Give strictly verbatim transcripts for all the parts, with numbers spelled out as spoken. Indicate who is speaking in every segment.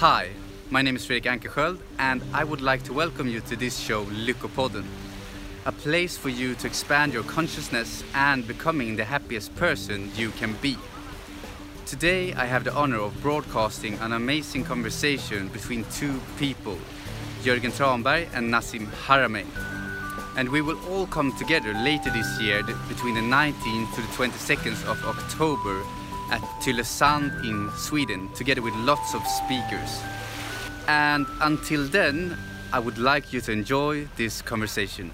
Speaker 1: Hi, my name is Fredrik Ankersköld and I would like to welcome you to this show Lyckopodden, a place for you to expand your consciousness and becoming the happiest person you can be. Today I have the honor of broadcasting an amazing conversation between two people, Jörgen Tranberg and Nassim Haramein. And we will all come together later this year between the nineteenth to the twenty-second of October at Tylösand in Sweden, together with lots of speakers. And until then, I would like you to enjoy this conversation.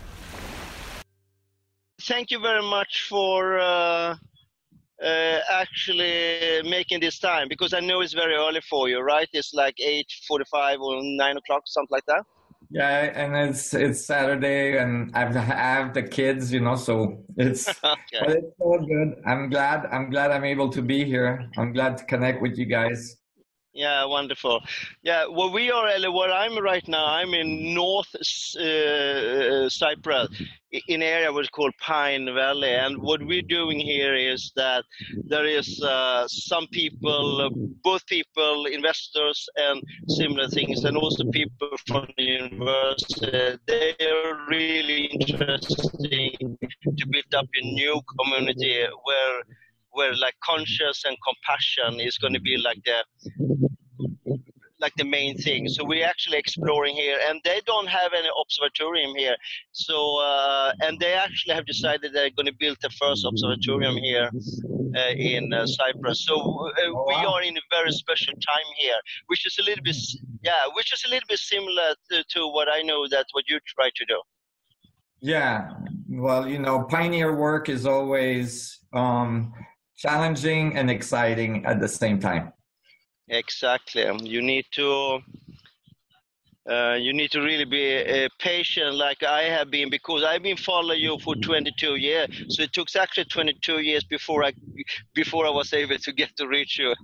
Speaker 2: Thank you very much for uh, uh, actually making this time, because I know it's very early for you, right? It's like eight forty-five or nine o'clock, something like that.
Speaker 3: Yeah, and it's it's Saturday, and I've I have the kids, you know, so it's
Speaker 2: Okay.
Speaker 3: but it's all good. I'm glad I'm glad I'm able to be here. I'm glad to connect with you guys.
Speaker 2: Yeah, wonderful. Yeah, well, we are, where I'm right now, I'm in North uh, Cyprus, in an area what's called Pine Valley. And what we're doing here is that there is uh, some people, uh, both people, investors and similar things, and also people from the university. They are really interesting to build up a new community where where like conscious and compassion is going to be like the like the main thing. So we're actually exploring here, and they don't have any observatorium here. So uh, and they actually have decided they're going to build the first observatorium here uh, in uh, Cyprus. So uh,
Speaker 3: Oh,
Speaker 2: we
Speaker 3: wow.
Speaker 2: are in a very special time here, which is a little bit yeah, which is a little bit similar to, to what I know that what you try to do.
Speaker 3: Yeah, well, you know, pioneer work is always um, challenging and exciting at the same time.
Speaker 2: Exactly. You need to uh, you need to really be uh, patient, like I have been, because I've been following you for twenty-two years. So it took actually twenty-two years before I before I was able to get to reach you.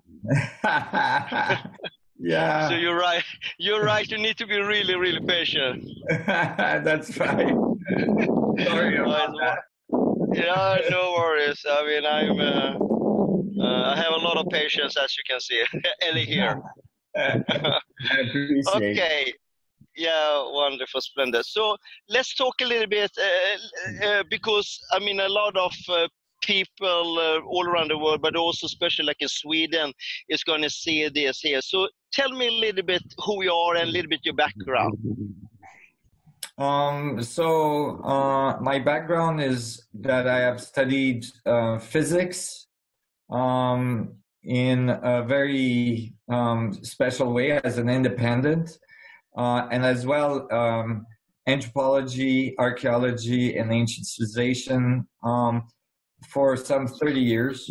Speaker 3: Yeah,
Speaker 2: So you're right. You're right. You need to be really, really patient.
Speaker 3: that's right. Sorry about that.
Speaker 2: Yeah, no worries. I mean, I'm. Uh, uh, I have a lot of patience, as you can see, and here.
Speaker 3: I appreciate.
Speaker 2: Okay. Yeah, wonderful, splendid. So let's talk a little bit, uh, uh, because I mean, a lot of uh, people uh, all around the world, but also especially like in Sweden, is going to see this here. So tell me a little bit who you are and a little bit your background.
Speaker 3: Um, so uh, my background is that I have studied uh, physics um, in a very um, special way as an independent, uh, and as well um, anthropology, archaeology, and ancient civilization um, for some thirty years.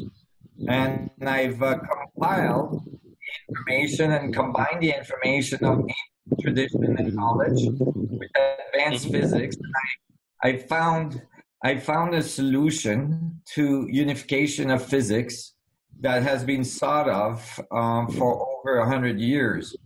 Speaker 3: And I've uh, compiled information and combined the information of ancient tradition and knowledge with advanced physics. I, I found I found a solution to unification of physics that has been sought of um, for over a hundred years,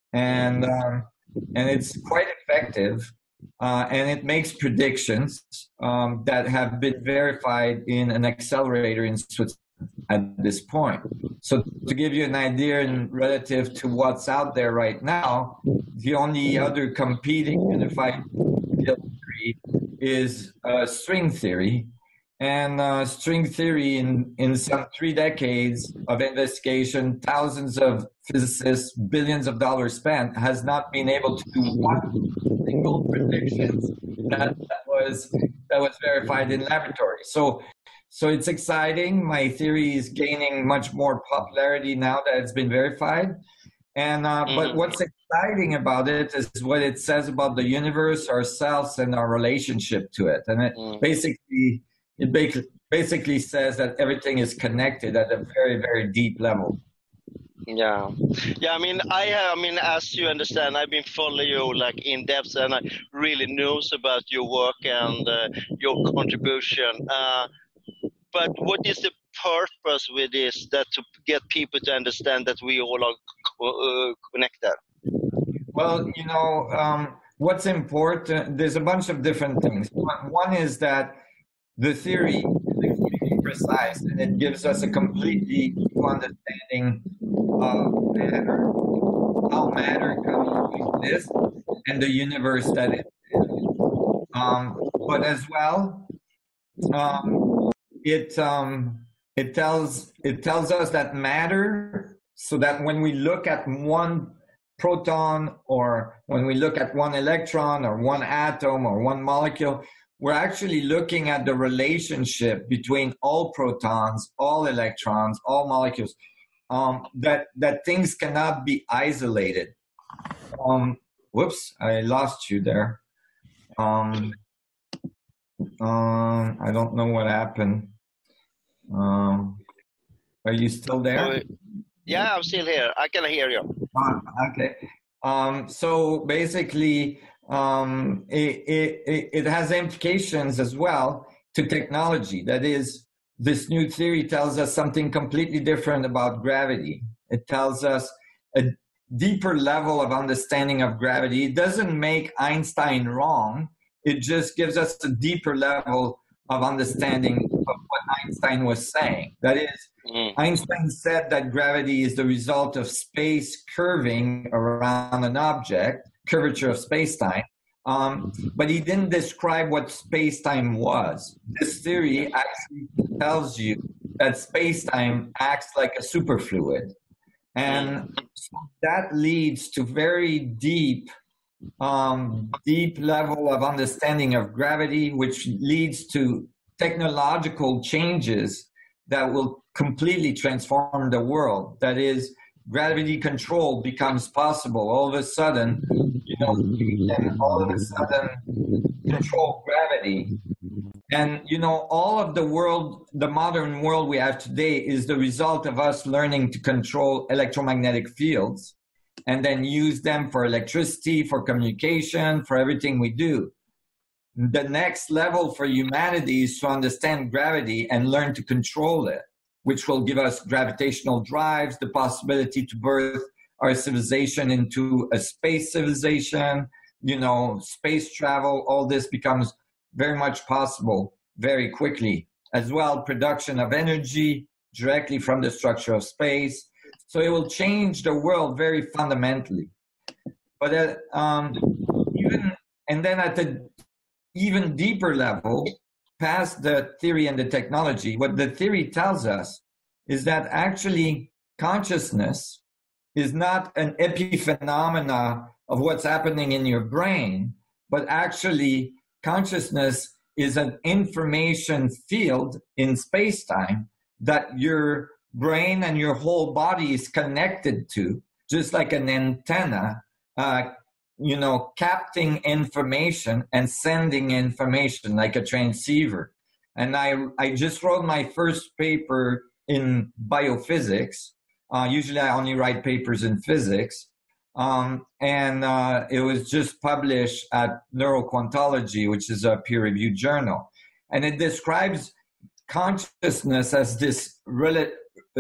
Speaker 3: and um, and it's quite effective, uh, and it makes predictions um, that have been verified in an accelerator in Switzerland at this point. So to give you an idea in relative to what's out there right now, the only other competing unified field theory is uh, string theory. And uh, string theory, in, in some three decades of investigation, thousands of physicists, billions of dollars spent, has not been able to do one single prediction that, that was that was verified in laboratory. So, so it's exciting. My theory is gaining much more popularity now that it's been verified. And uh, mm-hmm. But what's exciting about it is what it says about the universe, ourselves, and our relationship to it. And it mm-hmm. basically. It basically says that everything is connected at a very, very deep level.
Speaker 2: Yeah, yeah. I mean, I have. I mean, as you understand, I've been following you like in depth, and I really knows about your work and uh, your contribution. Uh, but what is the purpose with this? That to get people to understand that we all are co- uh, connected.
Speaker 3: Well, you know, um, what's important. There's a bunch of different things. One, one is that the theory is extremely precise, and it gives us a completely new understanding of matter. how matter exists and the universe that it is. Um, but as well, um, it um, it tells it tells us that matter, so that when we look at one proton, or when we look at one electron, or one atom, or one molecule, we're actually looking at the relationship between all protons, all electrons, all molecules. Um, that that things cannot be isolated. Um, whoops, I lost you there. Um, um, I don't know what happened. Um, are you still there?
Speaker 2: Oh, yeah, I'm still here. I can hear you.
Speaker 3: Ah, okay. Um, so basically, um, it, it, it has implications as well to technology. That is, this new theory tells us something completely different about gravity. It tells us a deeper level of understanding of gravity. It doesn't make Einstein wrong. It just gives us a deeper level of understanding of what Einstein was saying. That is, mm. Einstein said that gravity is the result of space curving around an object, curvature of space-time. Um, but he didn't describe what space-time was. This theory actually tells you that space-time acts like a superfluid. And so that leads to very deep, um, deep level of understanding of gravity, which leads to technological changes that will completely transform the world. That is, gravity control becomes possible. All of a sudden, you know, you can all of a sudden control gravity. And, you know, all of the world, the modern world we have today is the result of us learning to control electromagnetic fields and then use them for electricity, for communication, for everything we do. The next level for humanity is to understand gravity and learn to control it, which will give us gravitational drives, the possibility to birth our civilization into a space civilization, you know, space travel. All this becomes very much possible very quickly. As well, production of energy directly from the structure of space. So it will change the world very fundamentally. But uh, um, even, and then at the even deeper level, past the theory and the technology, what the theory tells us is that actually consciousness is not an epiphenomena of what's happening in your brain, but actually consciousness is an information field in space-time that your brain and your whole body is connected to, just like an antenna, uh, you know, capturing information and sending information like a transceiver. And I, I just wrote my first paper in biophysics. Uh, usually I only write papers in physics. Um, and uh, it was just published at Neuroquantology, which is a peer-reviewed journal. And it describes consciousness as this, rela-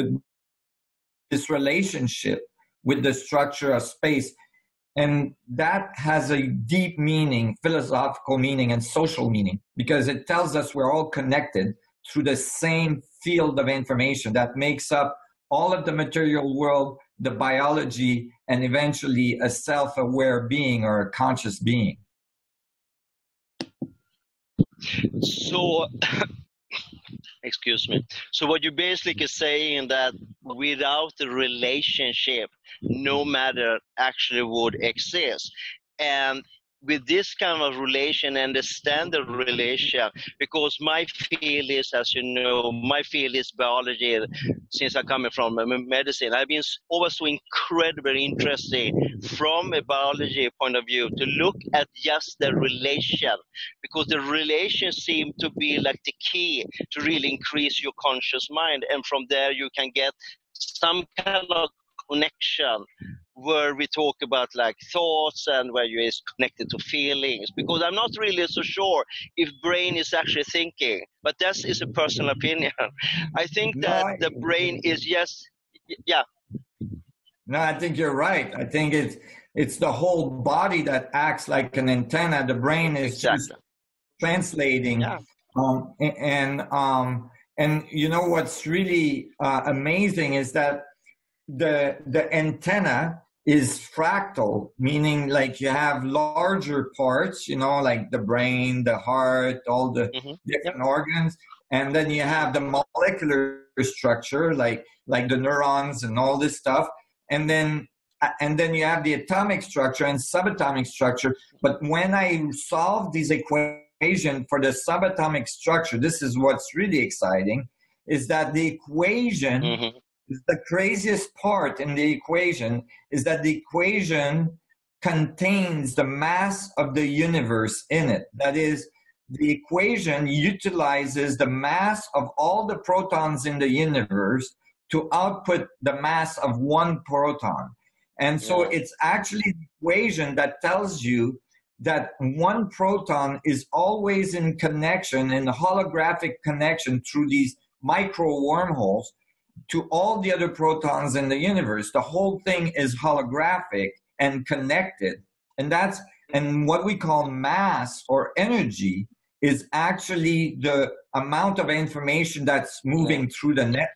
Speaker 3: this relationship with the structure of space. And that has a deep meaning, philosophical meaning, and social meaning, because it tells us we're all connected through the same field of information that makes up all of the material world, the biology, and eventually a self-aware being or a conscious being.
Speaker 2: So, excuse me. So what you're basically saying that without the relationship, no matter actually would exist. And with this kind of relation, understand the relation, because my field is, as you know, my field is biology. Since I'm coming from medicine, I've been always so incredibly interested from a biology point of view to look at just the relation, because the relation seems to be like the key to really increase your conscious mind, and from there you can get some kind of connection where we talk about like thoughts and where you is connected to feelings, because I'm not really so sure if brain is actually thinking, but that is a personal opinion. I think that no, I, the brain is just, yeah.
Speaker 3: No, I think you're right. I think it's, it's the whole body that acts like an antenna. The brain is exactly. just translating. Yeah. Um, and, um, and you know, what's really uh, amazing is that the, the antenna is fractal, meaning like you have larger parts, you know, like the brain, the heart, all the mm-hmm. different yep. organs. And then you have the molecular structure, like like the neurons and all this stuff. And then and then you have the atomic structure and subatomic structure. But when I solve these equations for the subatomic structure, this is what's really exciting, is that the equation, mm-hmm. is the craziest part in the equation, is that the equation contains the mass of the universe in it. That is, the equation utilizes the mass of all the protons in the universe to output the mass of one proton. And so yeah. it's actually the equation that tells you that one proton is always in connection, in a holographic connection through these micro wormholes to all the other protons in the universe. The whole thing is holographic and connected. And that's, and what we call mass or energy is actually the amount of information that's moving yeah. through the network.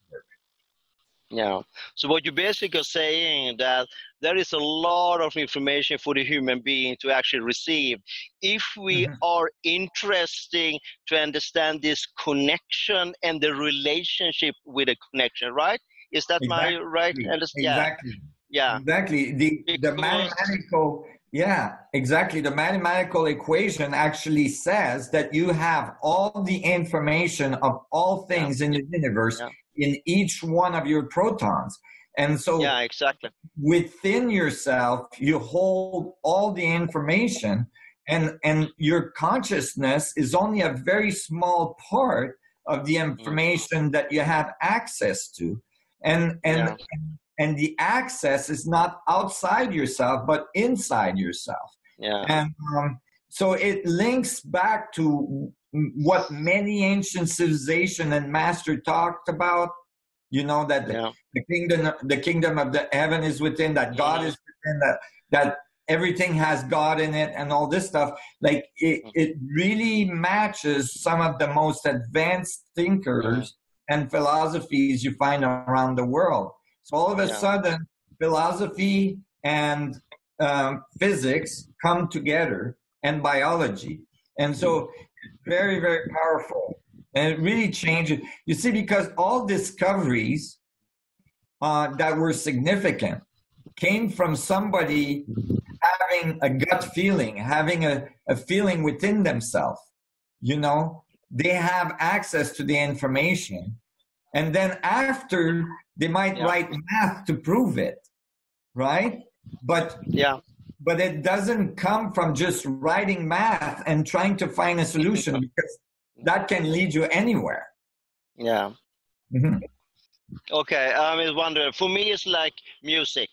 Speaker 2: Yeah. So what you basically are saying that there is a lot of information for the human being to actually receive. If we mm-hmm. are interested to understand this connection and the relationship with the connection, right? Is that
Speaker 3: exactly.
Speaker 2: my right understanding?
Speaker 3: Exactly.
Speaker 2: Yeah.
Speaker 3: Exactly. The because... the mathematical yeah, exactly. The mathematical equation actually says that you have all the information of all things yeah. in the universe yeah. in each one of your protons. And so
Speaker 2: yeah, exactly.
Speaker 3: within yourself, you hold all the information, and, and your consciousness is only a very small part of the information mm. that you have access to. And, and, yeah. and And the access is not outside yourself, but inside yourself.
Speaker 2: Yeah.
Speaker 3: And um, so it links back to what many ancient civilization and master talked about. You know that the,
Speaker 2: yeah.
Speaker 3: the kingdom, the kingdom of the heaven is within. That God yeah. is within. That that everything has God in it, and all this stuff. Like it, it really matches some of the most advanced thinkers yeah. and philosophies you find around the world. So all of a yeah. sudden, philosophy and um, physics come together, and biology. And so very, very powerful. And it really changes. You see, because all discoveries uh, that were significant came from somebody having a gut feeling, having a, a feeling within themselves. You know, they have access to the information. And then after, they might yeah. write math to prove it, right? But
Speaker 2: yeah,
Speaker 3: but it doesn't come from just writing math and trying to find a solution, because that can lead you anywhere.
Speaker 2: Yeah.
Speaker 3: Mm-hmm.
Speaker 2: Okay, I was wondering. For me, it's like music.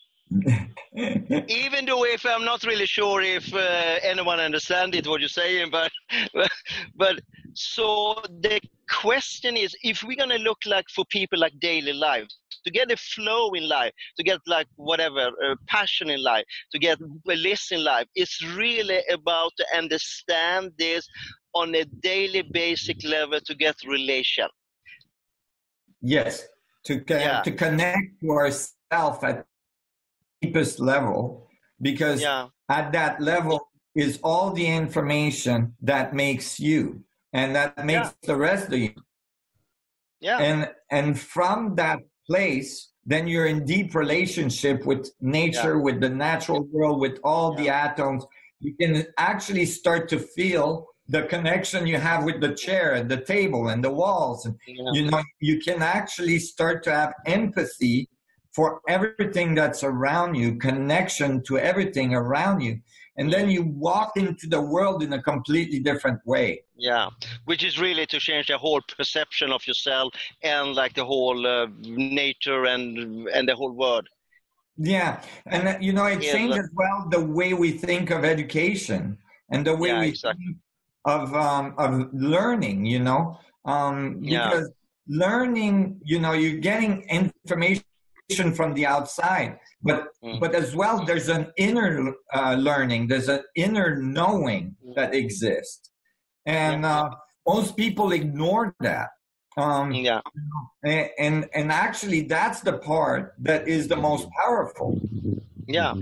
Speaker 2: Even though if I'm not really sure if uh, anyone understands it, what you're saying, but but so the question is, if we're gonna look like for people like daily lives, to get a flow in life, to get like whatever uh, passion in life, to get bliss in life, it's really about to understand this on a daily basic level to get relation.
Speaker 3: Yes, to co-
Speaker 2: yeah.
Speaker 3: to connect to ourselves at deepest level, because
Speaker 2: yeah.
Speaker 3: at that level is all the information that makes you, and that makes yeah. the rest of you.
Speaker 2: Yeah.
Speaker 3: And and from that place, then you're in deep relationship with nature, yeah. with the natural world, with all yeah. the atoms. You can actually start to feel the connection you have with the chair and the table and the walls. And,
Speaker 2: yeah.
Speaker 3: you know, you can actually start to have empathy for everything that's around you, connection to everything around you. And then you walk into the world in a completely different way.
Speaker 2: Yeah, which is really to change the whole perception of yourself and like the whole uh, nature and and the whole world.
Speaker 3: Yeah, and uh, you know, it
Speaker 2: yeah,
Speaker 3: changes
Speaker 2: but...
Speaker 3: well the way we think of education and the way
Speaker 2: yeah,
Speaker 3: we
Speaker 2: exactly.
Speaker 3: think of um, of learning. You know, um, because
Speaker 2: yeah.
Speaker 3: learning, you know, you're getting information from the outside, but mm. but as well, there's an inner uh, learning, there's an inner knowing that exists, and
Speaker 2: yeah.
Speaker 3: uh, most people ignore that. Um,
Speaker 2: yeah,
Speaker 3: and, and and actually, that's the part that is the most powerful,
Speaker 2: Yeah.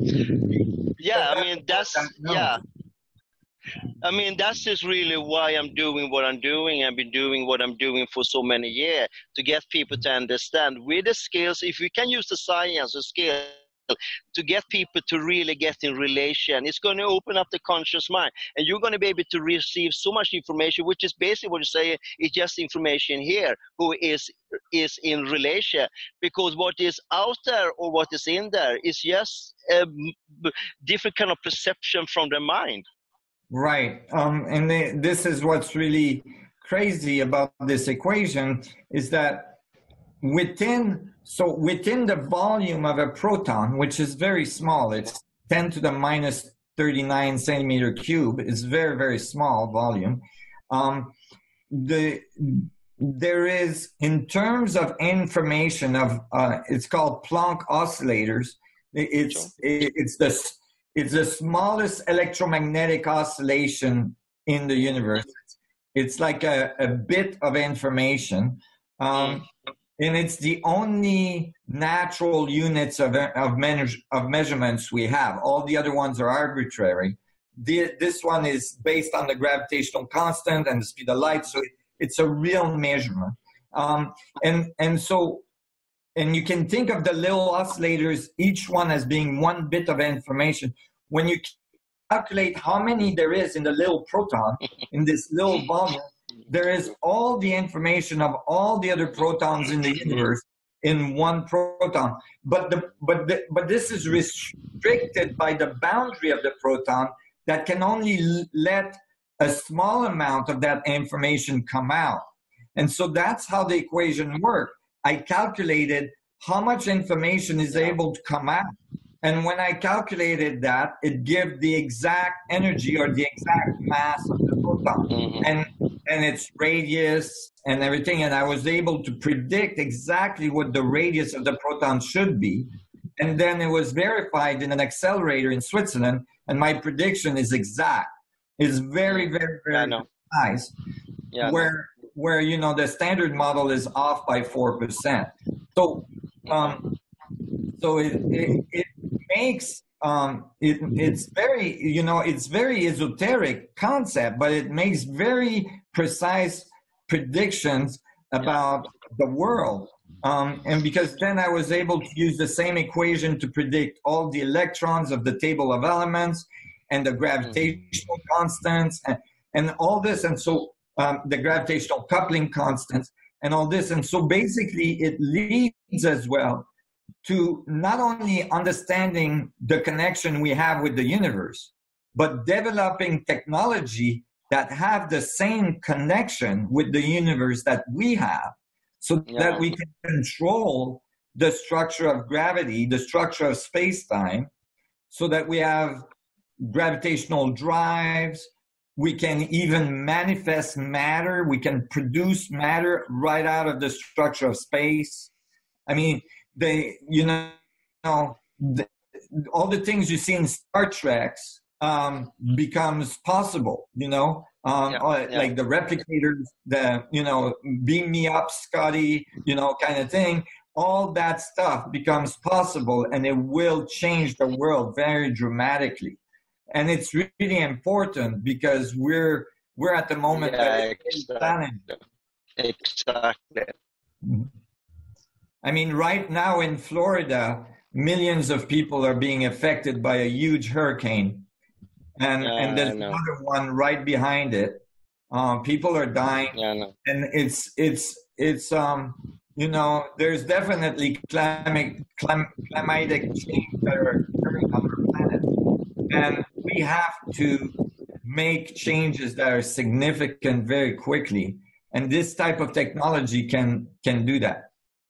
Speaker 2: Yeah, I mean, that's, yeah. I mean, that's just really why I'm doing what I'm doing. I've been doing what I'm doing for so many years, to get people to understand with the skills, if we can use the science or skill to get people to really get in relation, it's going to open up the conscious mind, and you're going to be able to receive so much information, which is basically what you say, it's just information here who is is in relation, because what is out there or what is in there is just a different kind of perception from the mind.
Speaker 3: Right. Um, and they, this is what's really crazy about this equation, is that within, so within the volume of a proton, which is very small, it's ten to the minus thirty-nine centimeter cube, it's very, very small volume. Um, the, there is, in terms of information of, uh, it's called Planck oscillators. It's, it's the, It's the smallest electromagnetic oscillation in the universe. It's like a, a bit of information. Um, and it's the only natural units of, of, me- of measurements we have. All the other ones are arbitrary. The, this one is based on the gravitational constant and the speed of light. So it, it's a real measurement. Um, and, and so, and you can think of the little oscillators, each one as being one bit of information. When you calculate how many there is in the little proton, in this little volume, there is all the information of all the other protons in the universe in one proton. But the, but the, but this is restricted by the boundary of the proton that can only let a small amount of that information come out. And so that's how the equation worked. I calculated how much information is able to come out. And when I calculated that, it gives the exact energy or the exact mass of the proton mm-hmm. and, and its radius and everything. And I was able to predict exactly what the radius of the proton should be. And then it was verified in an accelerator in Switzerland. And my prediction is exact. It's very, very, very yeah, precise. Yeah, where, where, you know, the standard model is off by four percent. So, um, so it, it, it makes, um, it, it's very, you know, it's very esoteric concept, but it makes very precise predictions about the world. Um, and because then I was able to use the same equation to predict all the electrons of the table of elements and the gravitational constants and, and all this. And so um, the gravitational coupling constants and all this. And so basically it leads as well to not only understanding the connection we have with the universe, but developing technology that have the same connection with the universe that we have, so yeah. that we can control the structure of gravity, the structure of space-time, so that we have gravitational drives. We can even manifest matter. We can produce matter right out of the structure of space. I mean, they, you know, the, all the things you see in Star Trek um, becomes possible, you know, um, yeah, yeah. like the replicators, the, you know, beam me up, Scotty, you know, kind of thing. All that stuff becomes possible, and it will change the world very dramatically. And it's really important because we're we're at the moment
Speaker 2: yeah, exactly. exactly.
Speaker 3: Mm-hmm. I mean, right now in Florida, millions of people are being affected by a huge hurricane. And, yeah, and there's another one right behind it. Um, people are dying.
Speaker 2: Yeah, no.
Speaker 3: And it's, it's, it's, um, you know, there's definitely climate, clim- climatic change that are occurring on our planet. And we have to make changes that are significant very quickly. And this type of technology can, can do that.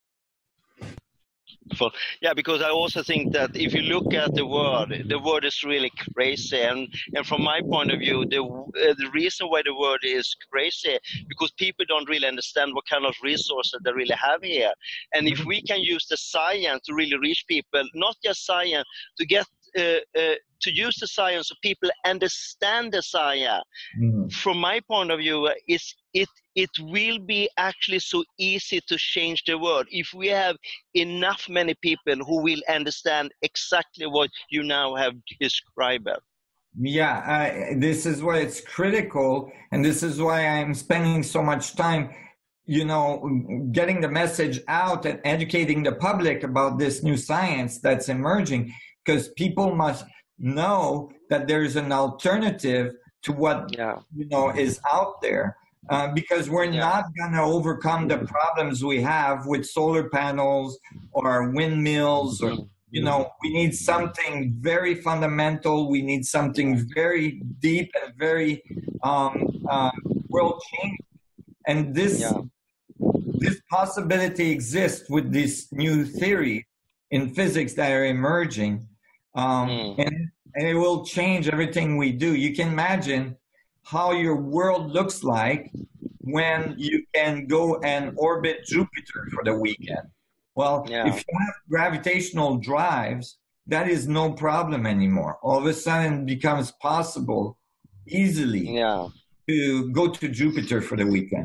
Speaker 2: Yeah, because I also think that if you look at the world, the world is really crazy, and and from my point of view, the uh, the reason why the world is crazy because people don't really understand what kind of resources they really have here, and if we can use the science to really reach people, not just science, to get uh, uh, to use the science so people understand the science. Mm. From my point of view, uh, it's, it it will be actually so easy to change the world if we have enough many people who will understand exactly what you now have described.
Speaker 3: Yeah, uh, this is why it's critical, and this is why I'm spending so much time, you know, getting the message out and educating the public about this new science that's emerging, because people must know that there's an alternative to what, yeah. you know, is out there. Uh, because we're yeah. not going to overcome the problems we have with solar panels or windmills, or, you know, we need something very fundamental. We need something very deep and very um, uh, world changing. And this, yeah. this possibility exists with this new theory in physics that are emerging. Um, mm. and, and it will change everything we do. You can imagine how your world looks like when you can go and orbit Jupiter for the weekend. Well, yeah. if you have gravitational drives, that is no problem anymore. All of a sudden it becomes possible easily yeah. to go to Jupiter for the weekend.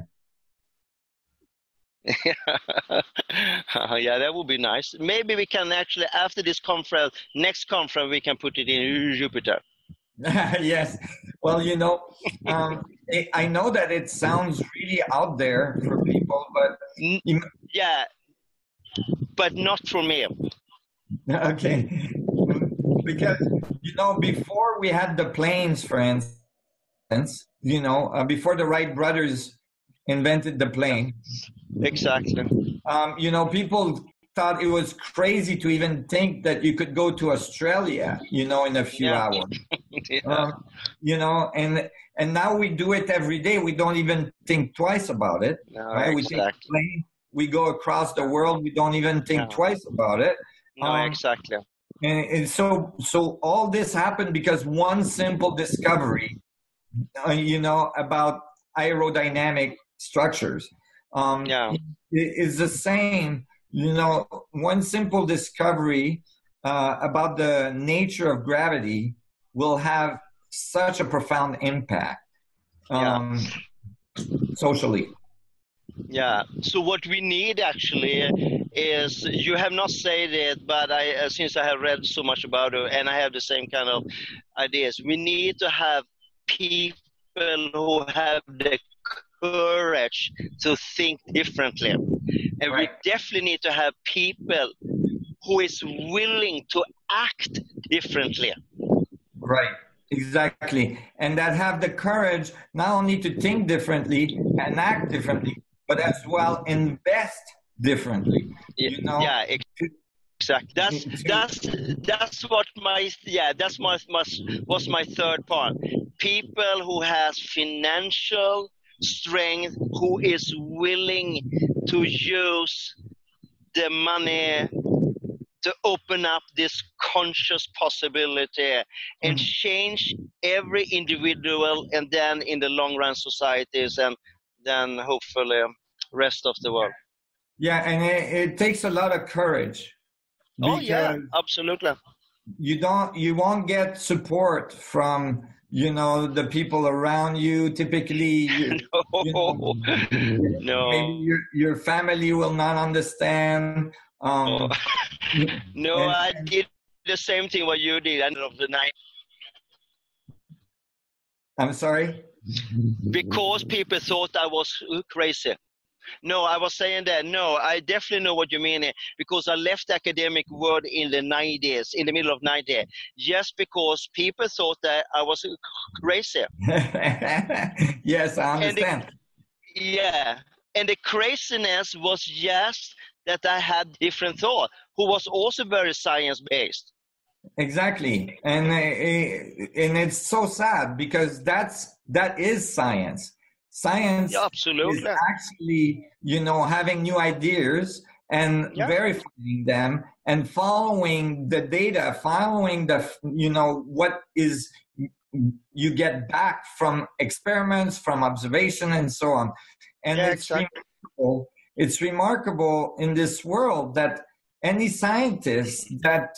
Speaker 2: Yeah, that would be nice. Maybe we can actually, after this conference, next conference, we can put it in Jupiter.
Speaker 3: Yes. Well, you know, um, I know that it sounds really out there for people, but...
Speaker 2: Yeah, but not for me.
Speaker 3: Okay. Because, you know, before we had the planes, for instance, you know, uh, before the Wright brothers invented the plane.
Speaker 2: Exactly.
Speaker 3: Um, you know, people thought it was crazy to even think that you could go to Australia, you know, in a few yeah. hours. yeah. um, you know, and and now we do it every day. We don't even think twice about it.
Speaker 2: No,
Speaker 3: right?
Speaker 2: Exactly.
Speaker 3: We take a plane, we go across the world. We don't even think no. twice about it.
Speaker 2: No, um, exactly.
Speaker 3: And, and so, so all this happened because one simple discovery, uh, you know, about aerodynamic structures, um,
Speaker 2: yeah.
Speaker 3: is the same. You know, one simple discovery uh, about the nature of gravity will have such a profound impact um, yeah. socially.
Speaker 2: Yeah. So what we need actually is, you have not said it, but I, uh, since I have read so much about it, and I have the same kind of ideas, we need to have people who have the courage to think differently. And right. we definitely need to have people who is willing to act differently.
Speaker 3: Right, exactly. And that have the courage not only to think differently and act differently, but as well invest differently. You know?
Speaker 2: Yeah, exactly. That's that's that's what my yeah that's my, my was my third part. People who has financial strength, who is willing to use the money to open up this conscious possibility and mm-hmm. change every individual, and then in the long run societies, and then hopefully rest of the world.
Speaker 3: Yeah, and it, it takes a lot of courage.
Speaker 2: Oh yeah, absolutely.
Speaker 3: You don't, you won't get support from, you know, the people around you. Typically, you,
Speaker 2: no,
Speaker 3: you know,
Speaker 2: no.
Speaker 3: Maybe your your family will not understand. Um,
Speaker 2: no, no and, I did the same thing what you did end of the night.
Speaker 3: I'm sorry?
Speaker 2: Because people thought I was crazy. No, I was saying that, no, I definitely know what you mean, because I left the academic world in the nineties, in the middle of nineties, just because people thought that I was crazy.
Speaker 3: Yes, I understand.
Speaker 2: And the, yeah, and the craziness was just that I had different thought, who was also very science-based.
Speaker 3: Exactly, and uh, and it's so sad because that's that is science. Science
Speaker 2: yeah, absolutely.
Speaker 3: is actually, you know, having new ideas and yeah. verifying them and following the data, following the, you know, what is you get back from experiments, from observation, and so on. And
Speaker 2: yeah,
Speaker 3: it's
Speaker 2: exactly.
Speaker 3: remarkable. It's remarkable in this world that any scientist that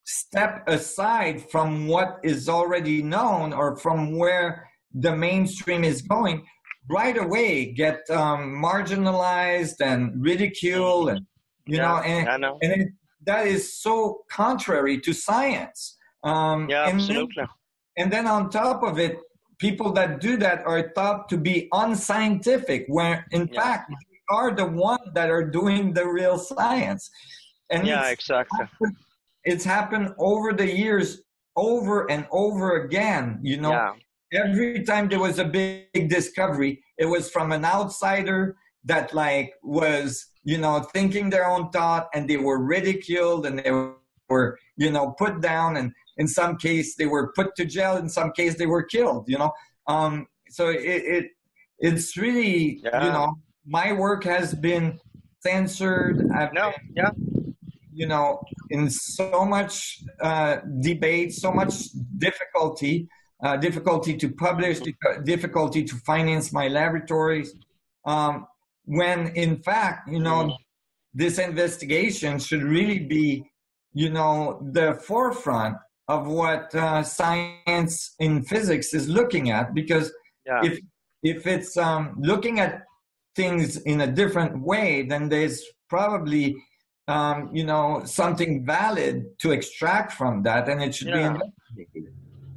Speaker 3: step aside from what is already known or from where the mainstream is going, right away get um, marginalized and ridiculed, and you
Speaker 2: yeah,
Speaker 3: know, and,
Speaker 2: I know.
Speaker 3: and it, that is so contrary to science. Um,
Speaker 2: Yeah,
Speaker 3: and
Speaker 2: absolutely.
Speaker 3: Then, and then on top of it, people that do that are thought to be unscientific, where in
Speaker 2: Yeah.
Speaker 3: fact they are the ones that are doing the real science. And
Speaker 2: Yeah,
Speaker 3: it's
Speaker 2: exactly.
Speaker 3: happened, it's happened over the years, over and over again. You know,
Speaker 2: Yeah.
Speaker 3: every time there was a big discovery, it was from an outsider that like was, you know, thinking their own thought, and they were ridiculed and they were, you know, put down, and in some case they were put to jail, in some case they were killed, you know. Um, so it, it it's really,
Speaker 2: Yeah.
Speaker 3: you know, my work has been censored. I've
Speaker 2: No,
Speaker 3: been,
Speaker 2: yeah.
Speaker 3: you know, in so much uh, debate, so much difficulty, uh, difficulty to publish, difficulty to finance my laboratories. Um, when in fact, you know, this investigation should really be, you know, the forefront of what uh, science in physics is looking at. Because
Speaker 2: Yeah.
Speaker 3: if if it's um, looking at things in a different way, then there's probably um, you know, something valid to extract from that, and it should
Speaker 2: Yeah.
Speaker 3: be investigated.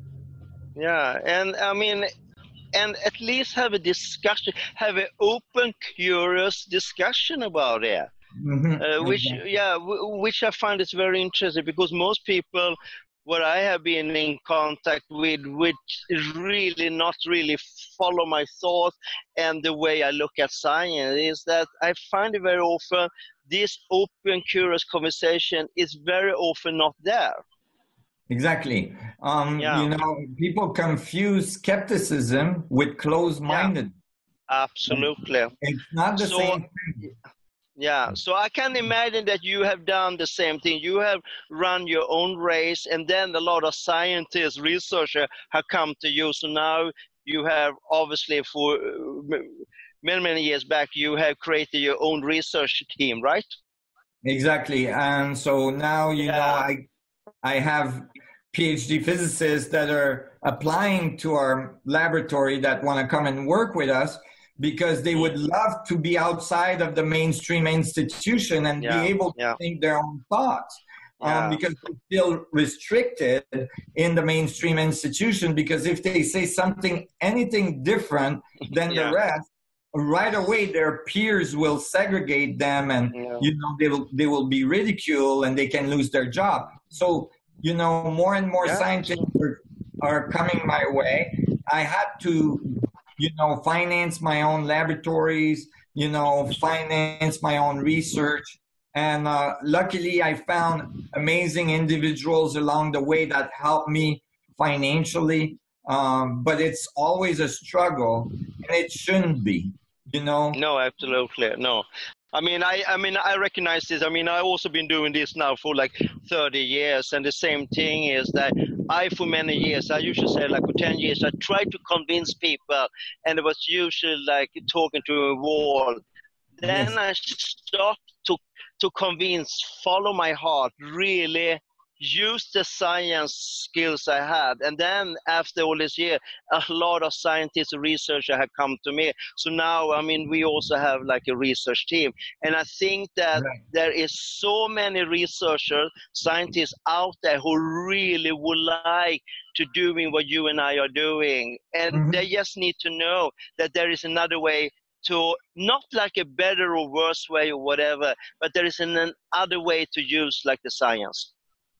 Speaker 2: Yeah, and I mean, and at least have a discussion, have an open, curious discussion about it.
Speaker 3: Mhm.
Speaker 2: Uh, which,
Speaker 3: Exactly.
Speaker 2: yeah, w- which I find is very interesting, because most people, what I have been in contact with, which is really not really follow my thoughts and the way I look at science, is that I find it very often this open, curious conversation is very often not there.
Speaker 3: Exactly. Um,
Speaker 2: Yeah.
Speaker 3: You know, people confuse skepticism with closed-minded.
Speaker 2: Absolutely.
Speaker 3: It's not the
Speaker 2: So-
Speaker 3: same thing.
Speaker 2: Yeah, so I can imagine that you have done the same thing. You have run your own race, and then a lot of scientists, researchers have come to you. So now you have, obviously, for uh, many, many years back, you have created your own research team, right?
Speaker 3: Exactly. And so now, you
Speaker 2: Yeah.
Speaker 3: know, I I have PhD physicists that are applying to our laboratory that want to come and work with us, because they would love to be outside of the mainstream institution and
Speaker 2: Yeah,
Speaker 3: be able to
Speaker 2: yeah.
Speaker 3: think their own thoughts. Um,
Speaker 2: Yeah.
Speaker 3: because they're still restricted in the mainstream institution, because if they say something, anything different than
Speaker 2: Yeah.
Speaker 3: the rest, right away their peers will segregate them, and
Speaker 2: Yeah.
Speaker 3: you know, they will they will be ridiculed and they can lose their job. So, you know, more and more
Speaker 2: Yeah.
Speaker 3: scientists are, are coming my way. I had to, you know, finance my own laboratories, you know, finance my own research. And uh, luckily, I found amazing individuals along the way that helped me financially. Um, but it's always a struggle, and it shouldn't be, you know.
Speaker 2: No, absolutely. No. I mean, I, I mean, I recognize this. I mean, I've also been doing this now for like thirty years. And the same thing is that I, for many years, I usually say like for ten years, I tried to convince people, and it was usually like talking to a wall. Then
Speaker 3: Yes.
Speaker 2: I stopped to, to convince, follow my heart, really use the science skills I had. And then after all this year, a lot of scientists and researchers have come to me. So now, I mean, we also have like a research team. And I think that
Speaker 3: Right.
Speaker 2: there is so many researchers, scientists out there who really would like to doing what you and I are doing. And
Speaker 3: Mhm.
Speaker 2: they just need to know that there is another way to, not like a better or worse way or whatever, but there is an, another way to use like the science.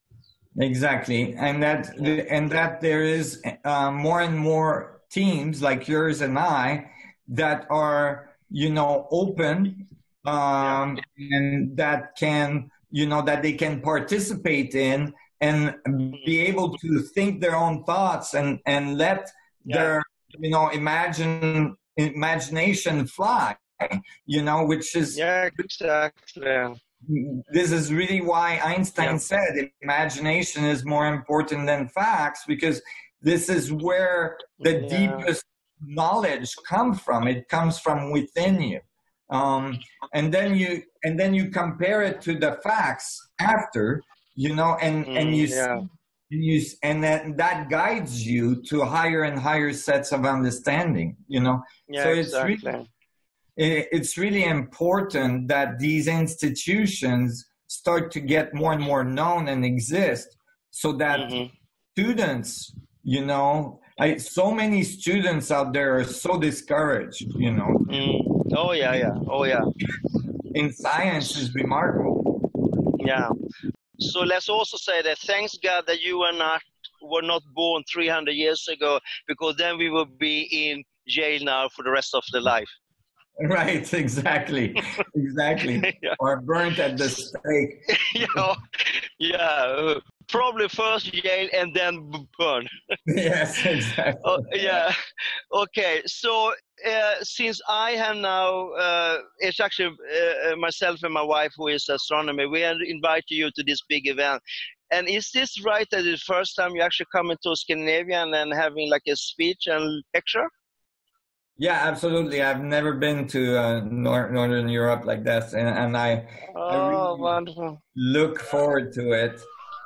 Speaker 3: Exactly, and that and that there is uh, more and more teams like yours and I that are, you know, open, um, and that can, you know, that they can participate in and be able to think their own thoughts and and let
Speaker 2: Yeah.
Speaker 3: their, you know, imagine imagination fly, you know, which is
Speaker 2: Yeah, exactly.
Speaker 3: this is really why Einstein
Speaker 2: Yeah.
Speaker 3: said imagination is more important than facts, because this is where the
Speaker 2: Yeah.
Speaker 3: deepest knowledge comes from. It comes from within you. Um, and then you and then you compare it to the facts after, you know, and,
Speaker 2: Mm,
Speaker 3: and you,
Speaker 2: yeah.
Speaker 3: you, and that, that guides you to higher and higher sets of understanding, you know.
Speaker 2: Yeah,
Speaker 3: So it's really,
Speaker 2: exactly.
Speaker 3: it's really important that these institutions start to get more and more known and exist, so that
Speaker 2: Mhm.
Speaker 3: students, you know, I, so many students out there are so discouraged, you know.
Speaker 2: Mm. Oh yeah, yeah. Oh yeah,
Speaker 3: In science is remarkable.
Speaker 2: yeah. So let's also say that thanks God that you are not were not born three hundred years ago, because then we would be in jail now for the rest of the life.
Speaker 3: Right, exactly, exactly.
Speaker 2: Yeah.
Speaker 3: Or burnt at the stake.
Speaker 2: Yeah, yeah. Probably first jail and then b- burn.
Speaker 3: Yes, exactly.
Speaker 2: Oh, yeah. Okay. So uh, since I have now, uh, it's actually uh, uh, myself and my wife who is astronomer. We have invited you to this big event. And is this right that it's the first time you actually coming to Scandinavia and then having like a speech and lecture?
Speaker 3: Yeah, absolutely. I've never been to uh, nor- Northern Europe like that, and, and I,
Speaker 2: Oh,
Speaker 3: I really
Speaker 2: wonderful.
Speaker 3: look forward to it.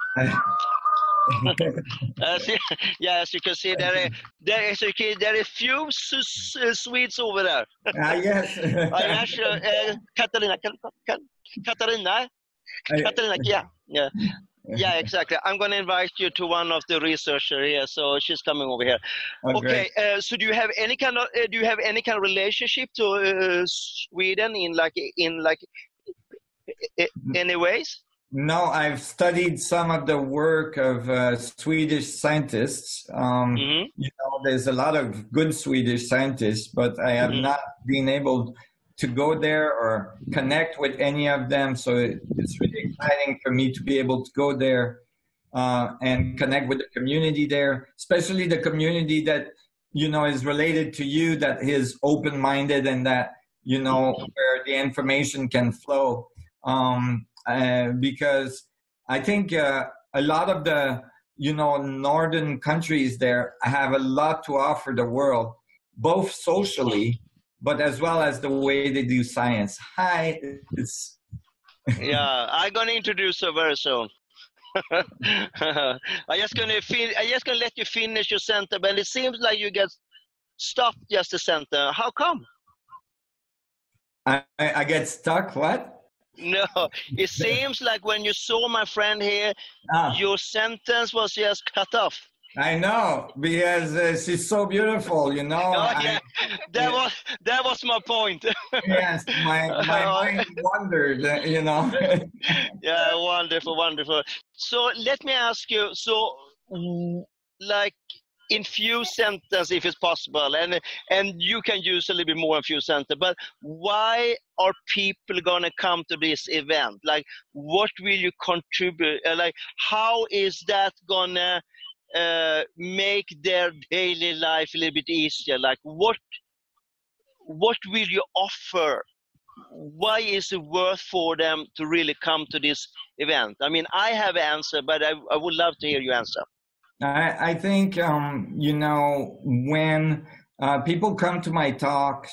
Speaker 2: As you, yeah, as you can see, there are, there is a kid, there are a few s- s- Swedes over there.
Speaker 3: Ah, yes.
Speaker 2: I actually, uh, Katarina, Ka- Ka- Katarina,
Speaker 3: I-
Speaker 2: Katarina, yeah, yeah, yeah, exactly. I'm going to invite you to one of the researchers here, so she's coming over here.
Speaker 3: Oh,
Speaker 2: Okay,
Speaker 3: great.
Speaker 2: uh, so do you have any kind of, uh, do you have any kind of relationship to uh, Sweden in like, in like, i- i- any ways?
Speaker 3: No, I've studied some of the work of uh, Swedish scientists. Um,
Speaker 2: Mm-hmm.
Speaker 3: you know, there's a lot of good Swedish scientists, but I have
Speaker 2: Mhm.
Speaker 3: not been able to go there or connect with any of them. So it, it's really exciting for me to be able to go there uh, and connect with the community there, especially the community that, you know, is related to you, that is open-minded and that, you know, where the information can flow. Um, uh, because I think uh, a lot of the, you know, northern countries there have a lot to offer the world, both socially, but as well as the way they do science. Hi, it's
Speaker 2: Yeah, I'm gonna introduce her very soon. I just gonna fin- I just gonna let you finish your sentence, but it seems like you get stopped just a sentence. How come?
Speaker 3: I, I get stuck. What?
Speaker 2: No, it seems like when you saw my friend here,
Speaker 3: Ah.
Speaker 2: your sentence was just cut off.
Speaker 3: I know, because uh, she's so beautiful, you know.
Speaker 2: Oh
Speaker 3: I-
Speaker 2: yeah, that was that was my point.
Speaker 3: yes, my my mind wandered, uh, you know.
Speaker 2: Yeah, wonderful, wonderful. So let me ask you, so mm, like in few sentences, if it's possible, and and you can use a little bit more in few sentences, but why are people gonna come to this event? Like, what will you contribute? Uh, like, how is that gonna uh, make their daily life a little bit easier? Like, what what will you offer? Why is it worth for them to really come to this event? I mean, I have an answer, but I, I would love to hear your answer.
Speaker 3: I, I think, um, you know, when uh, people come to my talks,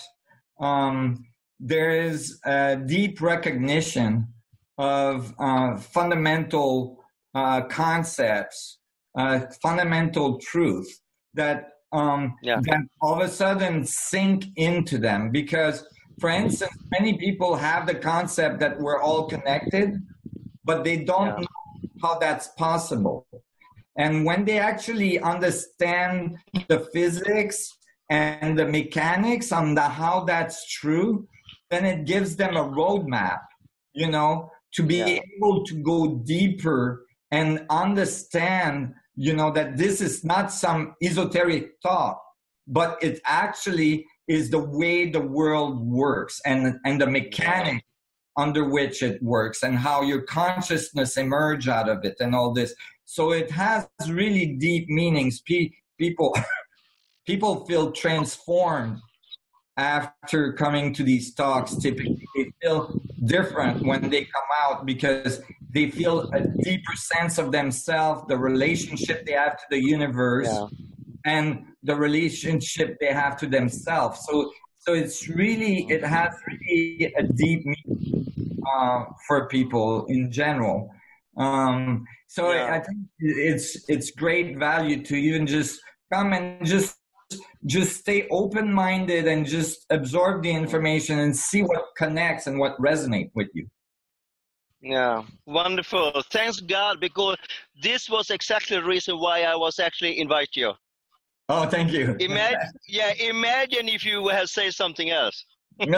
Speaker 3: um, there is a deep recognition of uh, fundamental uh, concepts, uh, fundamental truth that um,
Speaker 2: Yeah.
Speaker 3: that all of a sudden sink into them. Because, for instance, many people have the concept that we're all connected, but they don't
Speaker 2: Yeah.
Speaker 3: know how that's possible. And when they actually understand the physics and the mechanics on the how that's true, then it gives them a roadmap, you know, to be
Speaker 2: Yeah.
Speaker 3: able to go deeper and understand, you know, that this is not some esoteric thought, but it actually is the way the world works and, and the mechanics under which it works and how your consciousness emerge out of it and all this. So it has really deep meanings. Pe- people, people feel transformed after coming to these talks. Typically, they feel different when they come out because they feel a deeper sense of themselves, the relationship they have to the universe,
Speaker 2: Yeah.
Speaker 3: and the relationship they have to themselves. So, so it's really, it has really a deep meaning uh, for people in general. Um, so
Speaker 2: Yeah.
Speaker 3: I think it's it's great value to even just come and just just stay open-minded and just absorb the information and see what connects and what resonates with you.
Speaker 2: Yeah, wonderful. Thanks God, because this was exactly the reason why I was actually invite you.
Speaker 3: Oh, thank you.
Speaker 2: Imagine, yeah, imagine if you had said something else.
Speaker 3: Then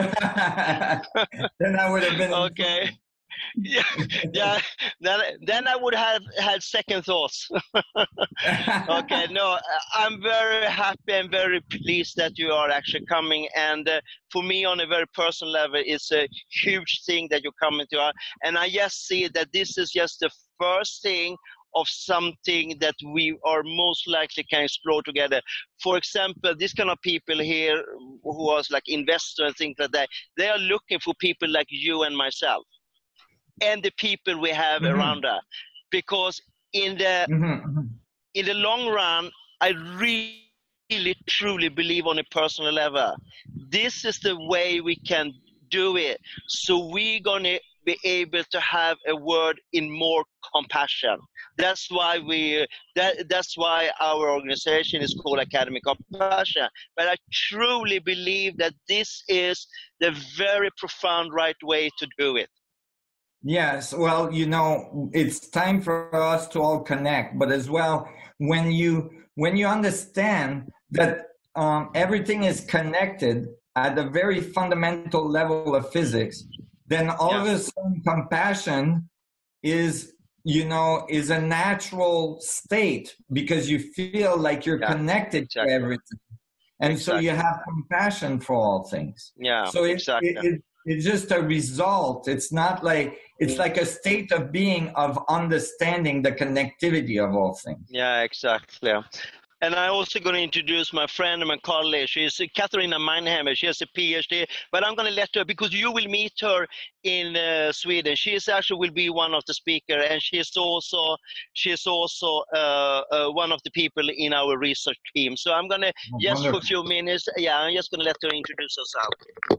Speaker 3: I would have been
Speaker 2: okay. Yeah, yeah. Then, then I would have had second thoughts. Okay, no, I'm very happy and very pleased that you are actually coming. And uh, for me, on a very personal level, it's a huge thing that you're coming to. Our, and I just see that this is just the first thing of something that we are most likely can explore together. For example, this kind of people here who are like investors and things like that, they are looking for people like you and myself and the people we have mm-hmm. around us. Because in the mm-hmm. in the long run, I really, really, truly believe on a personal level, this is the way we can do it. So we're going to be able to have a word in more compassion. That's why we. That, that's why our organization is called Academy Compassion. But I truly believe that this is the very profound right way to do it.
Speaker 3: Yes, well, you know, it's time for us to all connect. But as well, when you when you understand that um, everything is connected at a very fundamental level of physics, then all yeah. of a sudden compassion is, you know, is a natural state because you feel like you're yeah,
Speaker 2: exactly.
Speaker 3: connected to everything. And exactly. so you have compassion for all things.
Speaker 2: Yeah,
Speaker 3: so it,
Speaker 2: exactly.
Speaker 3: it, it, it's just a result. It's not like, it's like a state of being, of understanding the connectivity of all things.
Speaker 2: Yeah, exactly. And I'm also going to introduce my friend and my colleague. She's Katharina Meinheimer. She has a PhD, but I'm going to let her, because you will meet her in uh, Sweden. She is actually will be one of the speakers, and she is also she is also uh, uh, one of the people in our research team. So I'm going to oh, just wonderful. for a few minutes. Yeah, I'm just going to let her introduce herself.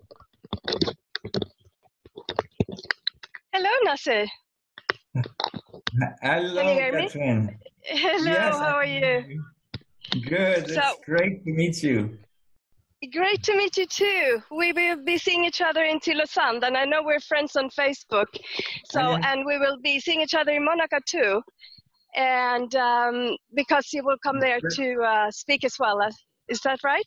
Speaker 4: Hello, Nasser.
Speaker 3: Hello,
Speaker 4: Can you hear
Speaker 3: Catherine.
Speaker 4: me? Hello,
Speaker 3: yes,
Speaker 4: how are you?
Speaker 3: Good. So, it's great to meet you.
Speaker 4: Great to meet you too. We will be seeing each other in Tylösand, and I know we're friends on Facebook. So, oh, yeah. and we will be seeing each other in Monaco too. And um, because you will come there to uh, speak as well. Is that right?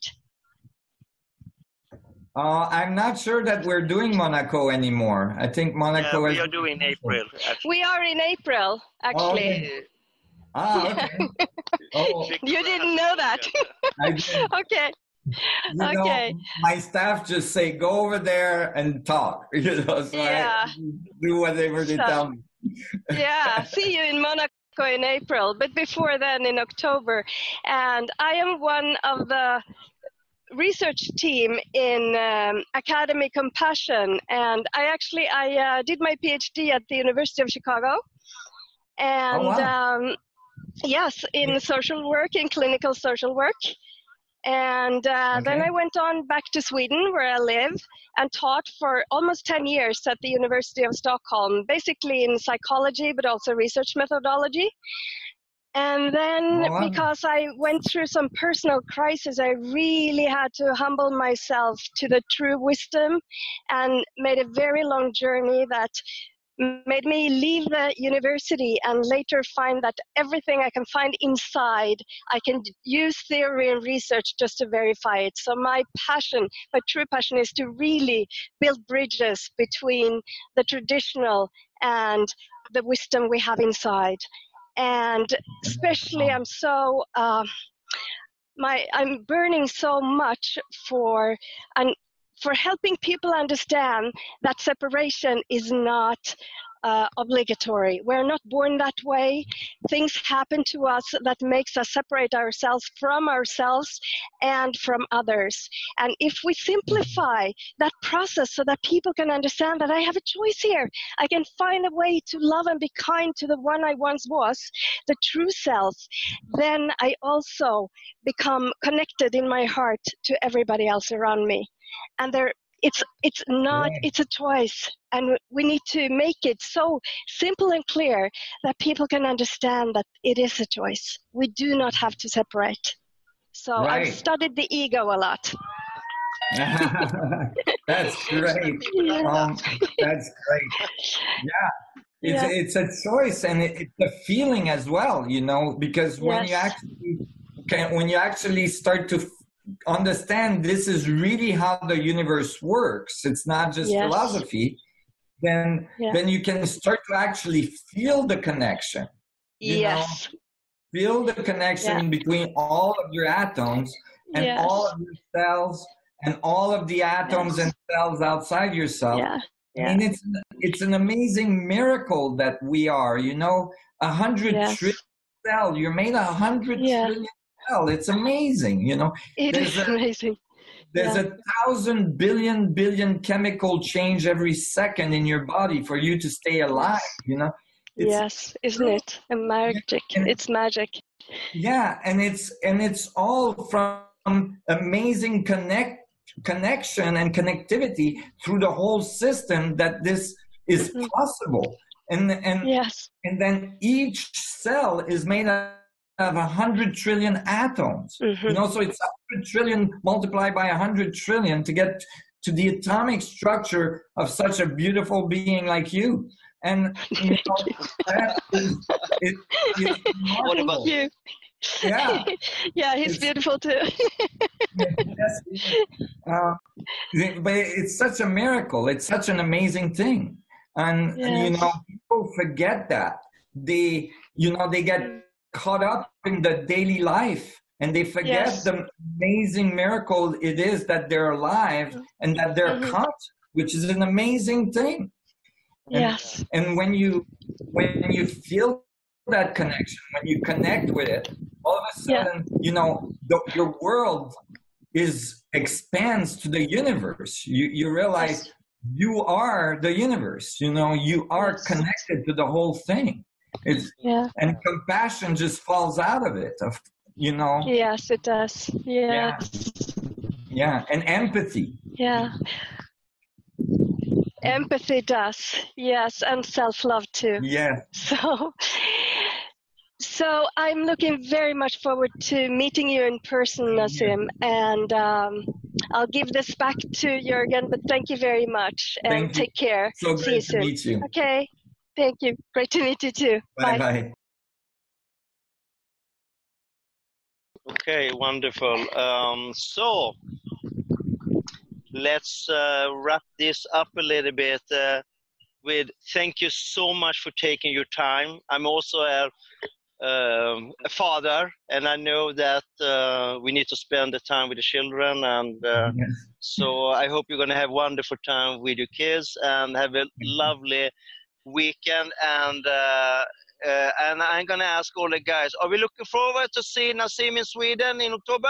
Speaker 3: Uh, I'm not sure that we're doing Monaco anymore. I think Monaco
Speaker 2: yeah, we
Speaker 3: is...
Speaker 2: are doing April. Actually.
Speaker 4: We are in April, actually.
Speaker 3: Oh, okay. Ah, okay.
Speaker 4: Oh. You didn't know that.
Speaker 3: I did.
Speaker 4: Okay.
Speaker 3: You
Speaker 4: okay.
Speaker 3: Know, my staff just say, go over there and talk. You know, so
Speaker 4: yeah.
Speaker 3: I do whatever they
Speaker 4: so,
Speaker 3: tell me.
Speaker 4: Yeah, see you in Monaco in April, but before then in October. And I am one of the research team in um, Academy Compassion, and I actually I uh, did my PhD at the University of Chicago, and
Speaker 3: oh, wow.
Speaker 4: um, yes, in social work, in clinical social work, and uh, okay. then I went on back to Sweden, where I live, and taught for almost ten years at the University of Stockholm, basically in psychology, but also research methodology. And then oh, wow. because I went through some personal crisis, I really had to humble myself to the true wisdom, and made a very long journey that made me leave the university and later find that everything I can find inside, I can use theory and research just to verify it. So my passion, my true passion, is to really build bridges between the traditional and the wisdom we have inside. And especially, I'm so uh, my I'm burning so much for and for helping people understand that separation is not uh, obligatory. We're not born that way. Things happen to us that makes us separate ourselves from ourselves and from others. And if we simplify that process so that people can understand that I have a choice here, I can find a way to love and be kind to the one I once was, the true self, then I also become connected in my heart to everybody else around me. And there It's it's not,
Speaker 3: Right.
Speaker 4: it's a choice. And we need to make it so simple and clear that people can understand that it is a choice. We do not have to separate. So I've
Speaker 3: Right.
Speaker 4: studied the ego a lot.
Speaker 3: That's great.
Speaker 4: Yeah.
Speaker 3: Um, that's great. Yeah. It's,
Speaker 4: Yeah.
Speaker 3: it's a choice, and it, it's a feeling as well, you know, because when you
Speaker 4: Yes.
Speaker 3: actually can, when you actually start to f- understand this is really how the universe works, it's not just
Speaker 4: Yes.
Speaker 3: philosophy, then
Speaker 4: Yeah.
Speaker 3: then you can start to actually feel the connection. You know,
Speaker 4: Yes.
Speaker 3: feel the connection
Speaker 4: Yeah.
Speaker 3: between all of your atoms and
Speaker 4: Yes.
Speaker 3: all of your cells and all of the atoms
Speaker 4: Yes.
Speaker 3: and cells outside yourself.
Speaker 4: Yeah.
Speaker 3: I
Speaker 4: Yeah.
Speaker 3: mean, it's it's an amazing miracle that we are. You know, a hundred
Speaker 4: Yes.
Speaker 3: trillion cell. You're made a hundred
Speaker 4: Yeah.
Speaker 3: trillion cell. It's amazing. You know,
Speaker 4: It
Speaker 3: there's
Speaker 4: is
Speaker 3: a
Speaker 4: amazing.
Speaker 3: there's
Speaker 4: Yeah.
Speaker 3: a thousand billion billion chemical change every second in your body for you to stay alive.
Speaker 4: Yes.
Speaker 3: You know, it's
Speaker 4: Yes, isn't it? A magic.
Speaker 3: and-
Speaker 4: It's magic.
Speaker 3: yeah, and it's and it's all from amazing connect connection and connectivity through the whole system that this is
Speaker 4: Mhm.
Speaker 3: possible. And and
Speaker 4: Yes.
Speaker 3: and then each cell is made of a hundred trillion atoms.
Speaker 4: Mhm.
Speaker 3: You know, so it's a hundred trillion multiplied by a hundred trillion to get to the atomic structure of such a beautiful being like you. And you know, that is, it, it's
Speaker 2: What about-
Speaker 3: remarkable.
Speaker 4: Thank you.
Speaker 3: Yeah.
Speaker 4: Yeah, he's
Speaker 3: It's-
Speaker 4: beautiful too.
Speaker 3: Yes, uh, but it's such a miracle. It's such an amazing thing, and, and you
Speaker 4: Yes.
Speaker 3: know, people forget that. They, you know, they get caught up in the daily life, and they forget
Speaker 4: Yes.
Speaker 3: the amazing miracle it is that they're alive and that they're
Speaker 4: Mhm.
Speaker 3: conscious, which is an amazing thing. And,
Speaker 4: Yes.
Speaker 3: and when you when you feel that connection, when you connect with it, all of a
Speaker 4: Yeah.
Speaker 3: sudden, you know, the, your world is expands to the universe. You you realize
Speaker 4: Yes.
Speaker 3: you are the universe. You know, you are
Speaker 4: Yes.
Speaker 3: connected to the whole thing. It's
Speaker 4: Yeah.
Speaker 3: and compassion just falls out of it. Of you know,
Speaker 4: Yes, it does. Yes.
Speaker 3: yeah, and empathy.
Speaker 4: Yeah. Empathy does. Yes, and self-love too.
Speaker 3: Yeah,
Speaker 4: So, so I'm looking very much forward to meeting you in person, Nassim, and um, I'll give this back to Jürgen. But thank you very much, and
Speaker 3: Thank you.
Speaker 4: take care.
Speaker 3: so
Speaker 4: See you
Speaker 3: great to
Speaker 4: soon.
Speaker 3: meet you.
Speaker 4: Okay, thank you. Great to meet you too.
Speaker 3: Bye bye.
Speaker 2: Okay, wonderful. Um, so let's uh, wrap this up a little bit uh, with thank you so much for taking your time. I'm also a, um, a father, and I know that uh, we need to spend the time with the children, and uh,
Speaker 3: Yes.
Speaker 2: so I hope you're going to have wonderful time with your kids and have a lovely weekend. And uh, uh, and I'm going to ask all the guys, are we looking forward to see Nassim in Sweden in October?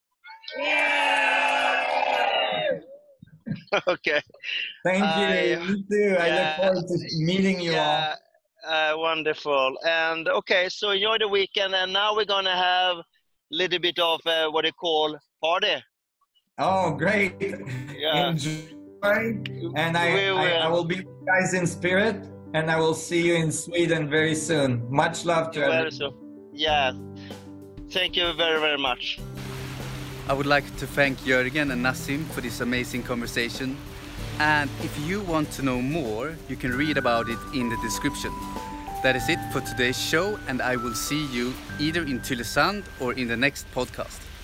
Speaker 2: Okay.
Speaker 3: Thank you.
Speaker 2: I-
Speaker 3: Me too. I
Speaker 2: yeah,
Speaker 3: look forward to meeting you all.
Speaker 2: Yeah, uh, wonderful. And okay, so enjoy the weekend. And now we're going to have a little bit of uh, what they call party.
Speaker 3: Oh, great.
Speaker 2: Yeah.
Speaker 3: Enjoy. And I,
Speaker 2: We
Speaker 3: I, I
Speaker 2: will.
Speaker 3: will be with you guys in spirit, and I will see you in Sweden very soon. Much love to
Speaker 2: Well,
Speaker 3: everyone.
Speaker 2: so, yeah. Thank you very, very much.
Speaker 1: I would like to thank Jürgen and Nassim for this amazing conversation. And if you want to know more, you can read about it in the description. That is it for today's show, and I will see you either in Tylösand or in the next podcast.